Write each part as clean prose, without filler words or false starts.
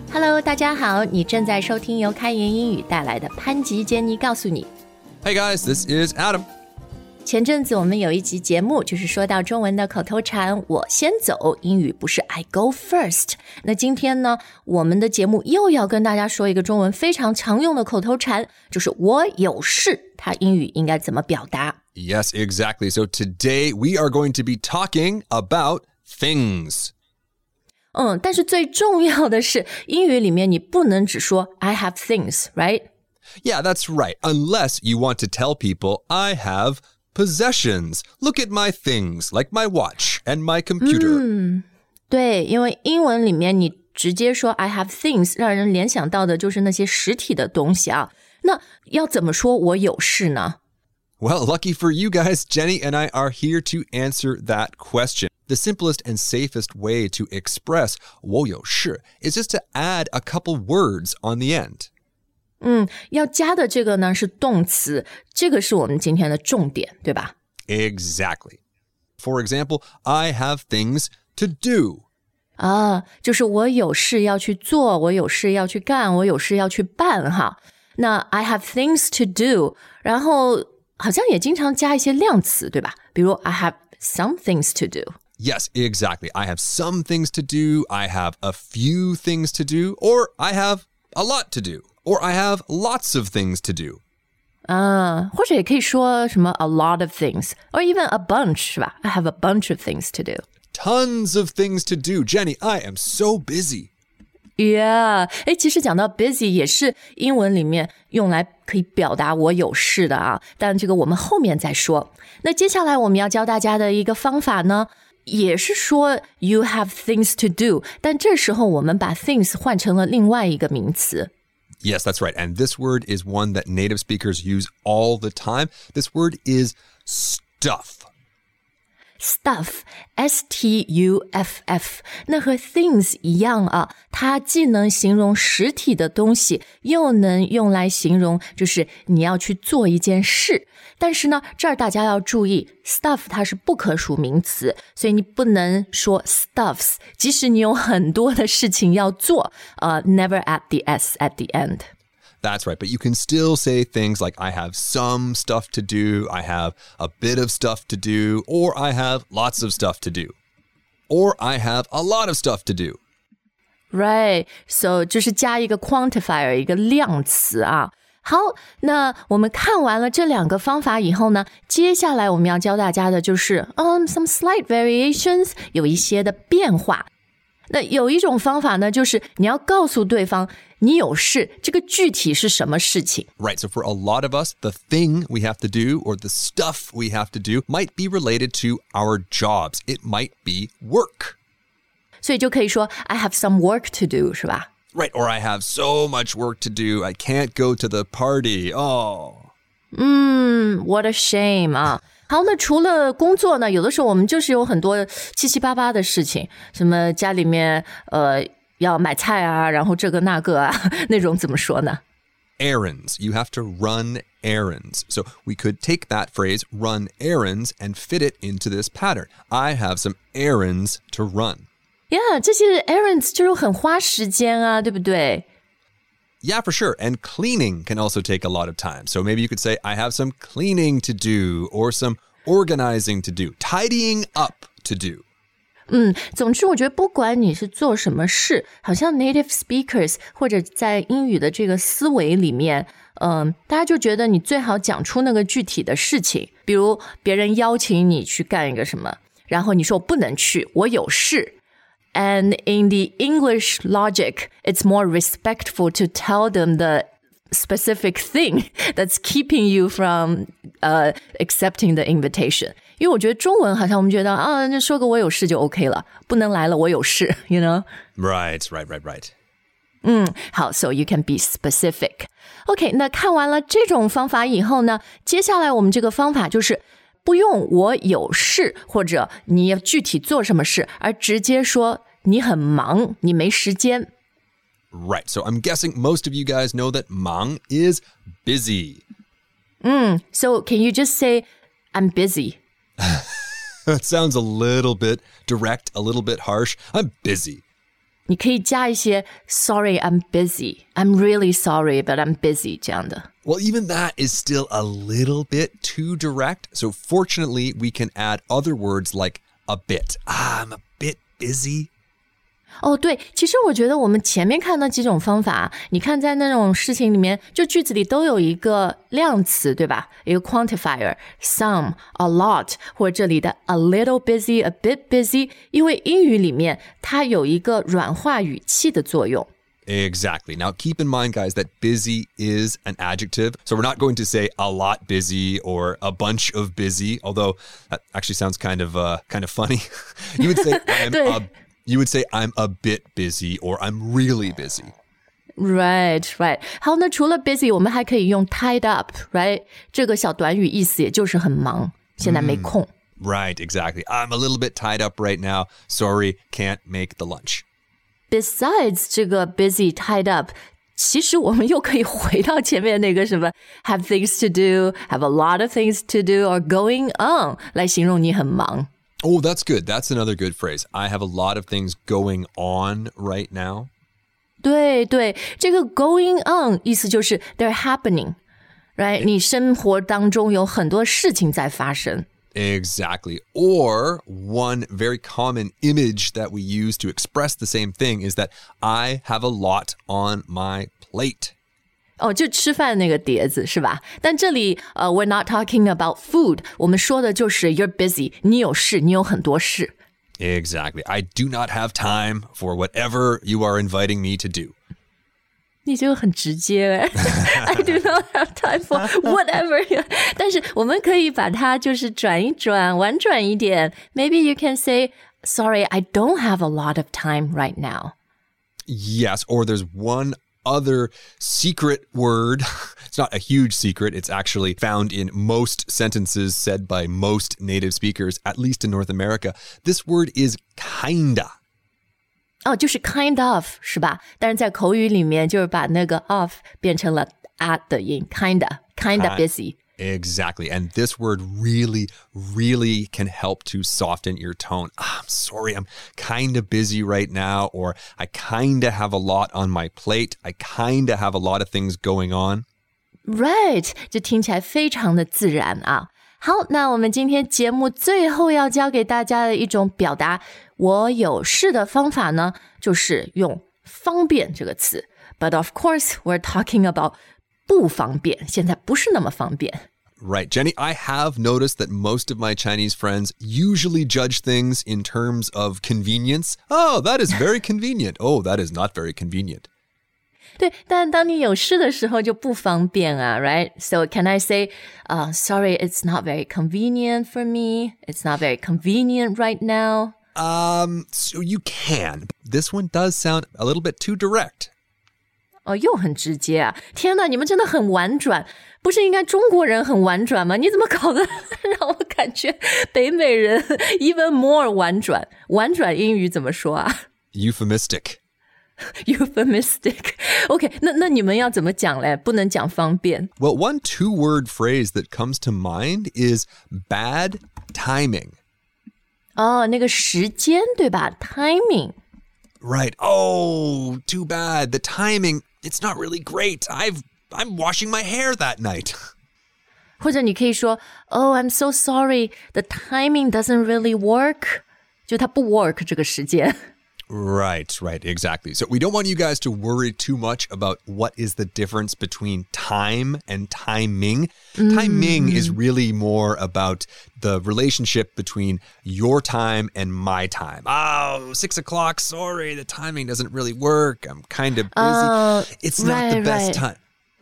Hello， 大家好，你正在收听由开言英语带来的潘吉杰尼告诉你。 Hey guys, this is Adam. 前阵子我们有一集节目，就是说到中文的口头禅我先走，英语不是 I go first。那今天呢，我们的节目又要跟大家说一个中文非常常用的口头禅，就是我有事，它英语应该怎么表达？ Yes, exactly. So today we are going to be talking about things. 但是最重要的是，英语里面你不能只说 I have things, right? Yeah, that's right. Unless you want to tell people I have possessions. Look at my things, like my watch and my computer. 对，因为英文里面你直接说 I have things， 让人联想到的就是那些实体的东西啊。那要怎么说我有事呢？ Well, lucky for you guys, Jenny and I are here to answer that question. The simplest and safest way to express 我有事 is just to add a couple words on the end. 要加的这个呢是动词，这个是我们今天的重点，对吧？ Exactly. For example, I have things to do. 就是我有事要去做，我有事要去干，我有事要去办哈。那 I have things to do， 然后好像也经常加一些量词，对吧？比如 I have some things to do. Yes, exactly. I have some things to do. I have a few things to do. Or I have a lot to do. Or I have lots of things to do. 或者也可以说什么 a lot of things, or even a bunch, 是吧？ I have a bunch of things to do. Tons of things to do. Jenny, I am so busy. Yeah, 其实讲到 busy 也是英文里面用来可以表达我有事的啊，但这个我们后面再说。那接下来我们要教大家的一个方法呢，也是说 you have things to do， 但这时候我们把 things 换成了另外一个名词。 Yes, that's right. And this word is one that native speakers use all the time. This word is stuff.Stuff, S-T-U-F-F， 那和 things 一样啊，它既能形容实体的东西，又能用来形容就是你要去做一件事。但是呢，这儿大家要注意 stuff 它是不可数名词，所以你不能说 stuffs， 即使你有很多的事情要做，never add the S at the end。That's right, but you can still say things like I have some stuff to do, I have a bit of stuff to do, or I have lots of stuff to do, or I have a lot of stuff to do. Right, so 就是加一个 quantifier, 一个量词啊。好，那我们看完了这两个方法以后呢，接下来我们要教大家的就是some slight variations, 有一些的变化。那有一种方法呢，就是你要告诉对方你有事，这个具体是什么事情。 Right, so for a lot of us, the thing we have to do or the stuff we have to do might be related to our jobs. It might be work. 所以就可以说 I have some work to do, 是吧？ Right, or I have so much work to do, I can't go to the party. What a shame 啊。好，那除了工作呢，有的时候我们就是有很多七七八八的事情，什么家里面要买菜啊，然后这个那个啊，那种怎么说呢？ Errands. You have to run errands. So we could take that phrase, run errands, and fit it into this pattern. I have some errands to run. Yeah, 这些 errands 就是很花时间啊，对不对 ？Yeah, for sure. And cleaning can also take a lot of time. So maybe you could say, I have some cleaning to do or some organizing to do, tidying up to do. 总之我觉得不管你是做什么事，好像 native speakers 或者在英语的这个思维里面，大家就觉得你最好讲出那个具体的事情，比如别人邀请你去干一个什么，然后你说我不能去，我有事。And in the English logic, it's more respectful to tell them the specific thing that's keeping you from accepting the invitation. 因为我觉得中文好像我们觉得就说个我有事就 OK 了，不能来了我有事 you know? Right. 好 so you can be specific. OK, 那看完了这种方法以后呢，接下来我们这个方法就是不用我有事或者你要具体做什么事，而直接说你很忙，你没时间。 Right, so I'm guessing most of you guys know that 忙 is busy. So can you just say, I'm busy? That sounds a little bit direct, a little bit harsh. I'm busy. 你可以加一些 Sorry, I'm busy. I'm really sorry, but I'm busy 这样的。 Well, even that is still a little bit too direct. So fortunately, we can add other words like a bit. I'm a bit busy. 哦，对，其实我觉得我们前面看那几种方法，你看在那种事情里面，就句子里都有一个量词，对吧？一个 quantifier, some, a lot, 或者这里的 a little busy, a bit busy， 因为英语里面它有一个软化语气的作用。 Exactly. Now, keep in mind, guys, that busy is an adjective. So we're not going to say a lot busy or a bunch of busy, although that actually sounds kind of funny. You would say I'm a bit busy or I'm really busy. Right. 好，那除了 busy， 我们还可以用 tied up, right? 这个小短语意思也就是很忙，现在没空。 Right, exactly. I'm a little bit tied up right now. Sorry, can't make the lunch.Besides 这个 busy, tied up, 其实我们又可以回到前面那个什么 have things to do, have a lot of things to do, or going on 来形容你很忙。 Oh, that's good. That's another good phrase. I have a lot of things going on right now. 对，这个 going on 意思就是 they're happening, right? 你生活当中有很多事情在发生。 Exactly. Or one very common image that we use to express the same thing is that I have a lot on my plate. 哦，就吃饭那个碟子是吧？但这里we're not talking about food. 我们说的就是 you're busy. 你有事，你有很多事。 Exactly. I do not have time for whatever you are inviting me to do. 你这个很直接I do not have time for whatever 但是我们可以把它就是转一转婉转一点 Maybe you can say Sorry, I don't have a lot of time right now. Yes, or there's one other secret word. It's not a huge secret. It's actually found in most sentences said by most native speakers, at least in North America. This word is kinda. 哦，就是 kind of 是吧？但是在口语里面就是把那个 of 变成了 at 的音 kinda busy. Exactly. And this word really, really can help to soften your tone. I'm sorry, I'm kind of busy right now, or I kind of have a lot on my plate. I kind of have a lot of things going on. Right. 这听起来非常的自然啊。好，那我们今天节目最后要教给大家的一种表达我有事的方法呢，就是用方便这个词。But of course, we're talking about 不方便，现在不是那么方便。 Right. Jenny, I have noticed that most of my Chinese friends usually judge things in terms of convenience. Oh, that is very convenient. Oh, that is not very convenient. 对，但当你有事的时候就不方便啊 right? So can I say, sorry, it's not very convenient for me. It's not very convenient right now. So you can. This one does sound a little bit too direct. 哦，又很直接啊！天哪，你们真的很婉转，不是应该中国人很婉转吗？你怎么搞得让我感觉北美人 even more 婉转？婉转英语怎么说啊？ Euphemistic. Euphemistic. OK, 那你们要怎么讲嘞？不能讲方便。 Well, one two-word phrase that comes to mind is bad timing. 哦，那个时间对吧？ Timing. Right. Oh, too bad. The timing, it's not really great. I'm washing my hair that night. 或者你可以说 Oh, I'm so sorry. The timing doesn't really work. 就它不 work 这个时间。 Right, exactly. So we don't want you guys to worry too much about what is the difference between time and timing. Timing is really more about the relationship between your time and my time. Oh, 6 o'clock, sorry, the timing doesn't really work. I'm kind of busy. It's not the best time.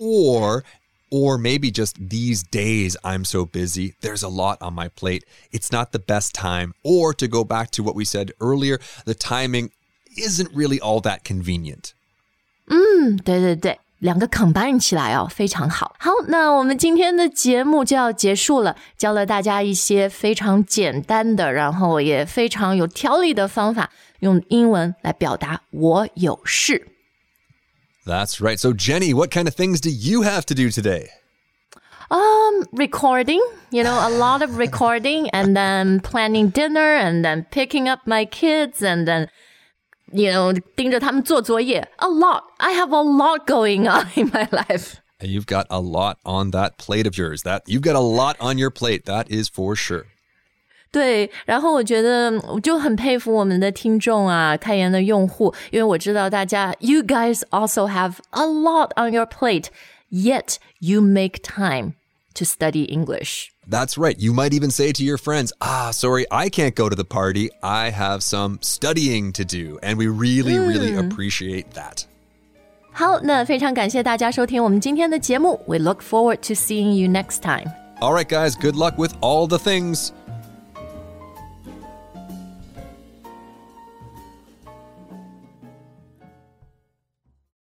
Or maybe just these days I'm so busy. There's a lot on my plate. It's not the best time. Or to go back to what we said earlier, the timing isn't really all that convenient. 对，两个 combine 起来哦，非常好。好，那我们今天的节目就要结束了，教了大家一些非常简单的，然后也非常有条理的方法，用英文来表达我有事。 That's right. So Jenny, what kind of things do you have to do today? Recording, a lot of recording and then planning dinner and then picking up my kids and then 盯着他们做作业 A lot. I have a lot going on in my life. You've got a lot on that plate of yours. You've got a lot on your plate. That is for sure. 对，然后我觉得我就很佩服我们的听众啊，开言的用户，因为我知道大家 You guys also have a lot on your plate, yet you make time to study English. That's right. You might even say to your friends, sorry, I can't go to the party. I have some studying to do. And we really, really appreciate that. 好，那非常感谢大家收听我们今天的节目。We look forward to seeing you next time. All right, guys, good luck with all the things.